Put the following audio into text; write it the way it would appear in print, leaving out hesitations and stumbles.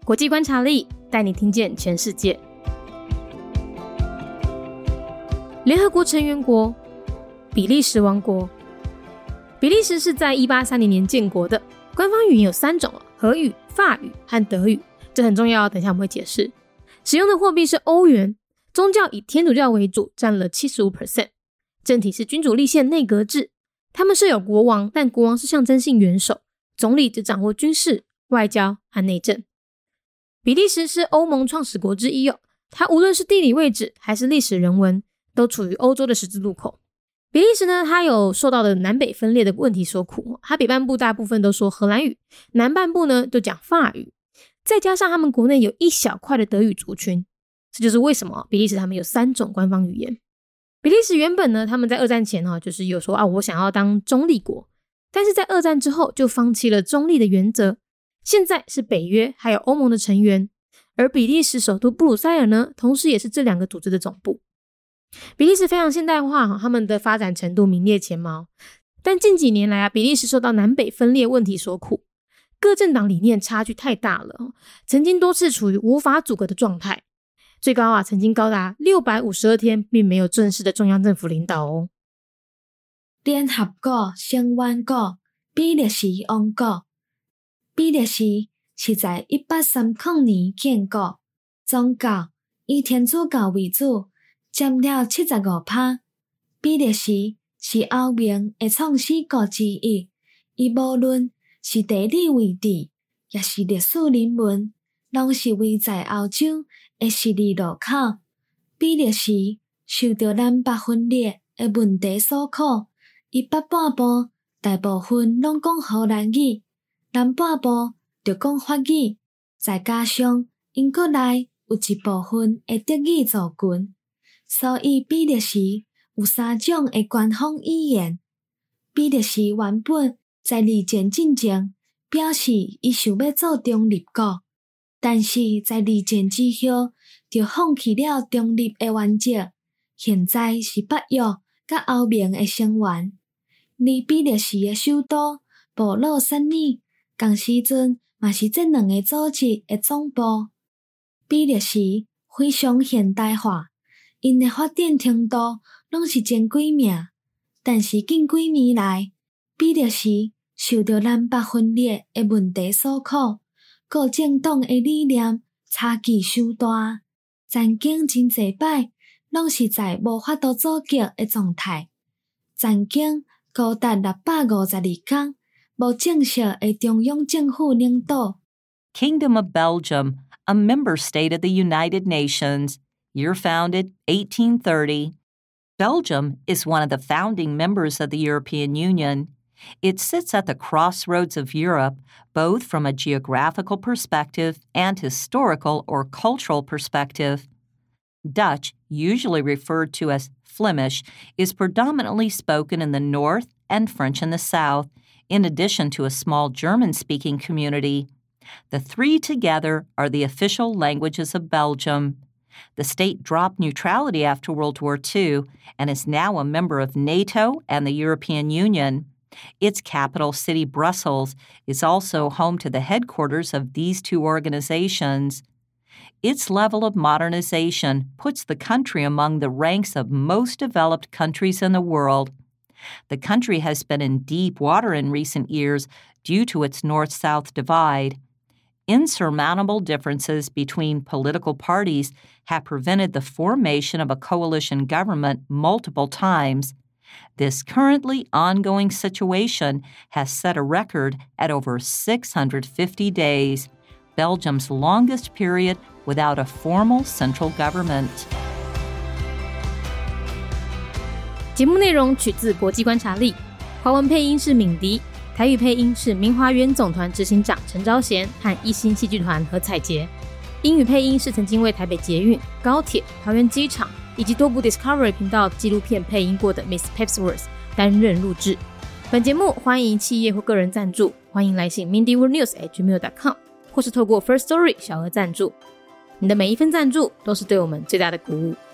国际观察力带你听见全世界。联合国成员国比利时王国。比利时是在1830年建国的，官方语言有3种，荷语、法语和德语，这很重要，等一下我们会解释。使用的货币是欧元，宗教以天主教为主，占了 75%， 政体是君主立宪内阁制，他们设有国王，但国王是象征性元首，总理只掌握军事、外交和内政。比利时是欧盟创始国之一，它无论是地理位置还是历史人文，都处于欧洲的十字路口。比利时呢，它有受到的南北分裂的问题所苦，它北半部大部分都说荷兰语，南半部呢就讲法语，再加上他们国内有一小块的德语族群，这就是为什么比利时他们有3种官方语言。比利时原本呢，他们在二战前就是有说我想要当中立国，但是在二战之后就放弃了中立的原则，现在是北约还有欧盟的成员，而比利时首都布鲁塞尔呢，同时也是这2个组织的总部。比利时非常现代化，他们的发展程度名列前茅，但近几年来比利时受到南北分裂问题所苦，各政党理念差距太大了，曾经多次处于无法阻隔的状态，最高曾经高达652天并没有正式的中央政府领导哦。 联合国成员国比利时王国。比利时是在1830年建国，宗教以天主教为主，占了 75%。 比利时是欧盟的创始国之一，伊无论是地理位置也是历史人文，拢是位在欧洲的十字路口。比利时受到南北分裂的问题所苦，伊北半部大部分拢讲荷兰语，南半部就讲法语，再加上英国内有一部分的德语族群，所以比利时有3种的官方语言。比利时原本在二战进前表示伊想要做中立国，但是在二战之后就放弃了中立的原则，现在是北约甲欧盟的成员。而比利时的首都布鲁塞尔同时阵嘛是这2个组织的总部。比利时非常现代化，因的发展程度拢是前几名，但是近几年来，比利时受到南北分裂的问题所苦，各政党的理念差距伤大，战争真侪摆拢是在无法度阻击的状态。战争高达652天，无正式的中央政府领导。 Kingdom of Belgium, a member state of the United Nations, year founded 1830. Belgium is one of the founding members of the European Union. It sits at the crossroads of Europe, both from a geographical perspective and historical or cultural perspective. Dutch, usually referred to as Flemish, is predominantly spoken in the north and French in the south, in addition to a small German-speaking community. The 3 together are the official languages of Belgium. The state dropped neutrality after World War II and is now a member of NATO and the European Union. Its capital city, Brussels, is also home to the headquarters of these 2 organizations. Its level of modernization puts the country among the ranks of most developed countries in the world. The country has been in deep water in recent years due to its north-south divide. Insurmountable differences between political parties have prevented the formation of a coalition government multiple times. This currently ongoing situation has set a record at over 650 days, Belgium's longest period without a formal central government. 节目内容取自国际观察力，华文配音是敏迪，台语配音是明华园总团执行长陈昭贤和一心戏剧团何彩杰，英语配音是曾经为台北捷运、高铁、桃园机场以及多部 Discovery 频道纪录片配音过的 Miss Pepsworth 担任录制。本节目欢迎企业或个人赞助，欢迎来信 mindyworldnews@gmail.com 或是透过 First Story 小额赞助。你的每一份赞助都是对我们最大的鼓舞。